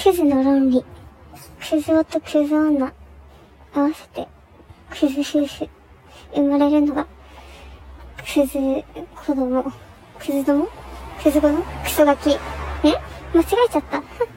クズの論理。クズ男とクズ女。合わせて、クズ夫婦。生まれるのが、クズ子供。クズ供クズ子供クソガキ。間違えちゃった。